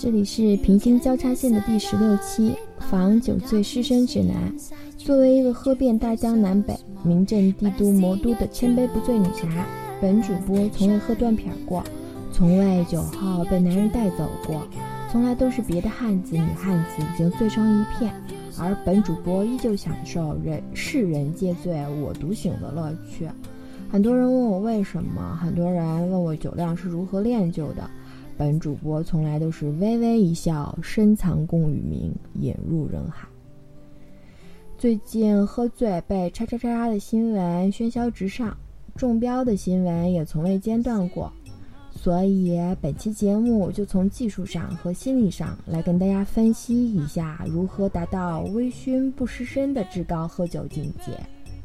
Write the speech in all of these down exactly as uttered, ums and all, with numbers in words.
这里是平行交叉线的第十六期，防酒醉失身指南。作为一个喝遍大江南北、名震帝都魔都的千杯不醉女侠，本主播从未喝断片过，从未酒后被男人带走过，从来都是别的汉子女汉子已经醉成一片，而本主播依旧享受人世人皆醉我独醒的乐趣。很多人问我为什么，很多人问我酒量是如何练就的，本主播从来都是微微一笑，深藏功与名，引入人海。最近喝醉被叉叉叉叉的新闻喧嚣直上，中标的新闻也从未间断过，所以本期节目就从技术上和心理上来跟大家分析一下如何达到微醺不失身的至高喝酒境界。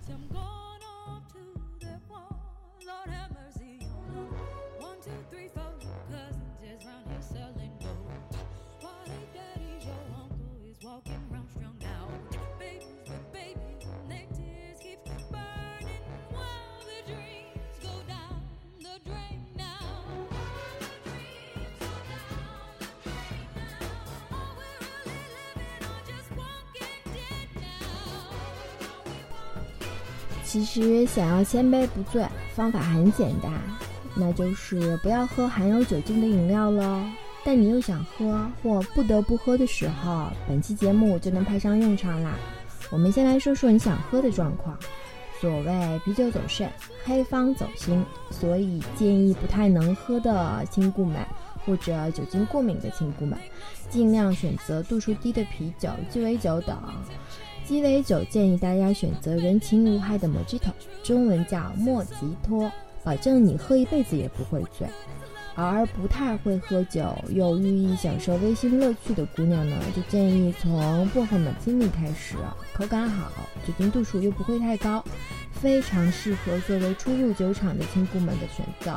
其实想要千杯不醉，方法很简单，那就是不要喝含有酒精的饮料咯。但你又想喝或不得不喝的时候，本期节目就能派上用场啦。我们先来说说你想喝的状况。所谓啤酒走肾，黑方走心，所以建议不太能喝的亲故们或者酒精过敏的亲故们，尽量选择度数低的啤酒、鸡尾酒等。鸡尾酒建议大家选择人情无害的 Mojito， 中文叫莫吉托，保证你喝一辈子也不会醉。而不太会喝酒又寓意享受微醺乐趣的姑娘呢，就建议从薄荷马提尼开始，口感好，酒精度数又不会太高，非常适合作为初入酒场的亲姑们的选择。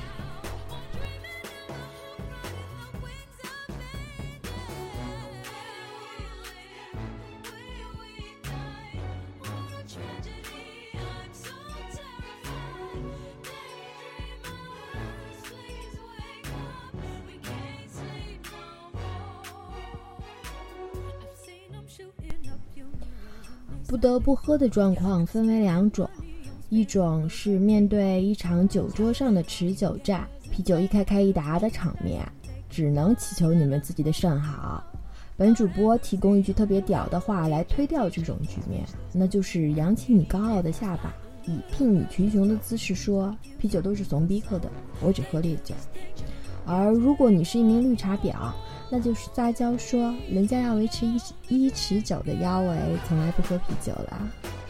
不得不喝的状况分为两种，一种是面对一场酒桌上的持久战，啤酒一开开一打的场面，只能祈求你们自己的肾好。本主播提供一句特别屌的话来推掉这种局面，那就是扬起你高傲的下巴，以睥睨群雄的姿势说，啤酒都是怂逼喝的，我只喝烈酒。而如果你是一名绿茶婊，那就是撒娇说人家要维持一一尺九的腰围，从来不喝啤酒啦。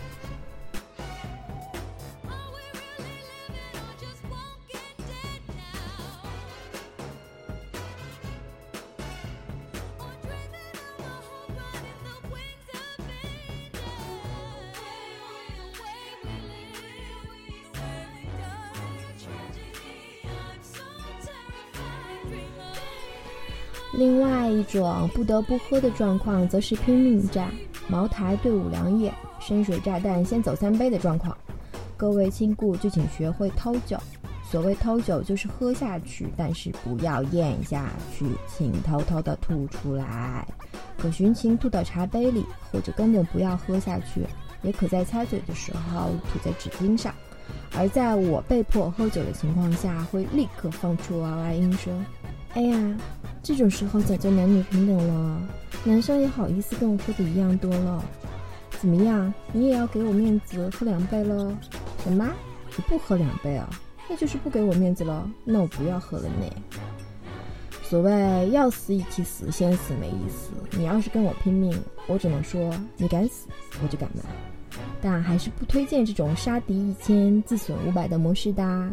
另外一种不得不喝的状况则是拼命战，茅台对五粮液，深水炸弹先走三杯的状况。各位亲故就请学会偷酒，所谓偷酒就是喝下去，但是不要咽下去，请偷偷的吐出来，可寻情吐到茶杯里，或者根本不要喝下去，也可在擦嘴的时候吐在纸巾上。而在我被迫喝酒的情况下，会立刻放出娃娃音声。哎呀，这种时候讲究男女平等了，男生也好意思跟我喝的一样多了。怎么样，你也要给我面子喝两杯了？什么？你不喝两杯啊？那就是不给我面子了，那我不要喝了呢。所谓要死一起死，先死没意思，你要是跟我拼命，我只能说你敢死我就敢来，但还是不推荐这种杀敌一千自损五百的模式的。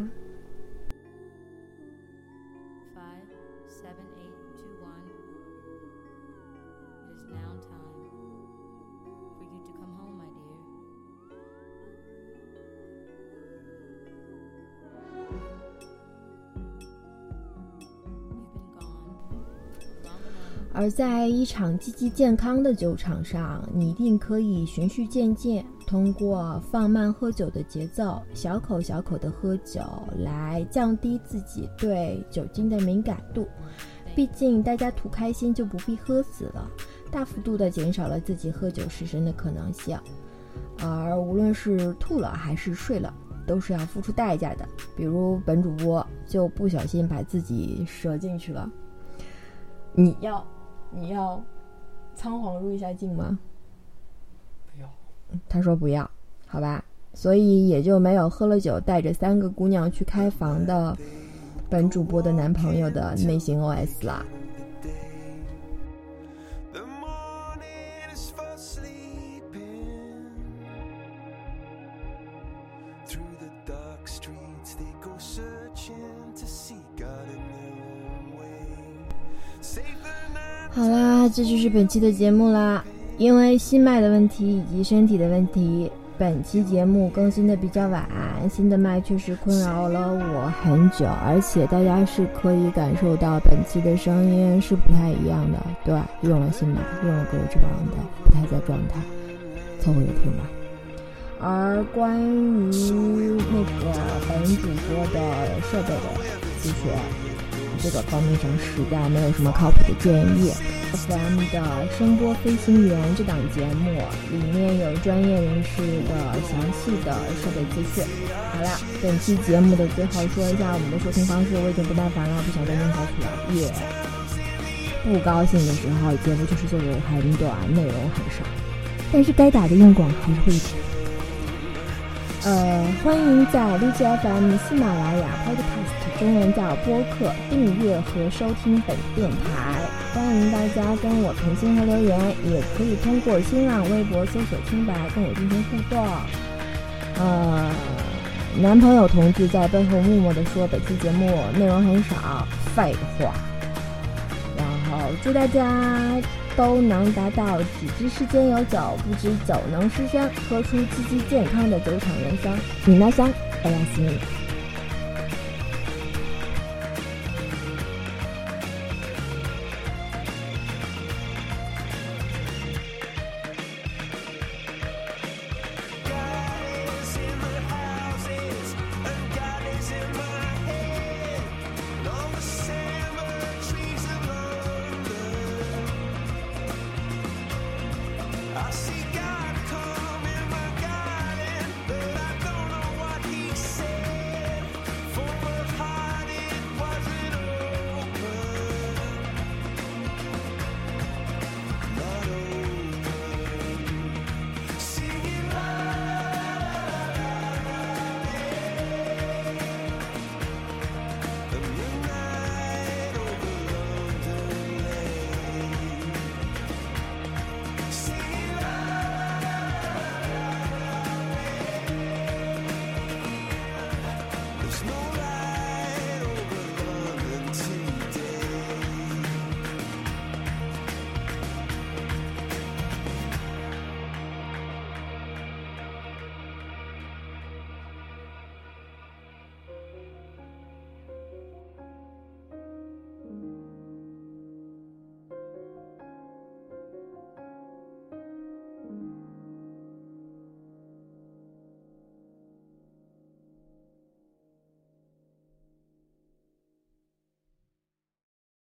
而在一场积极健康的酒场上，你一定可以循序渐进，通过放慢喝酒的节奏，小口小口的喝酒，来降低自己对酒精的敏感度， 毕竟大家图开心就不必喝死了，大幅度的减少了自己喝酒失身的可能性。而无论是吐了还是睡了，都是要付出代价的。比如本主播就不小心把自己折进去了，你要你要仓皇入一下镜吗？ 不要。 他说不要，好吧，所以也就没有喝了酒带着三个姑娘去开房的本主播的男朋友的内心 O S 啦。好啦，这就是本期的节目啦。因为心脉的问题以及身体的问题，本期节目更新的比较晚，新的麦确实困扰了我很久，而且大家是可以感受到本期的声音是不太一样的。对，用了新麦，用了各种指望的，不太在状态，凑合着听吧。而关于那个本主播的设备的咨询，这个方面上实在没有什么靠谱的建议。F M 的声波飞行员这档节目里面有专业人士的详细的设备资讯。好啦，本期节目的最后说一下我们的收听方式，我已经不耐烦了，不想再念下去了。也不高兴的时候，节目就是做的很短，内容很少，但是该打的硬广还是会打。呃，欢迎在荔枝 F M、喜马拉雅、Podcast 中文叫播客订阅和收听本电台。欢迎大家跟我评星和留言，也可以通过新浪微博搜索清白跟我进行互动。呃，男朋友同志在背后默默地说本期节目内容很少，废话。然后祝大家都能达到只知世间有酒，不知酒能失身，喝出积极健康的酒场人生。米娜桑，我要死你。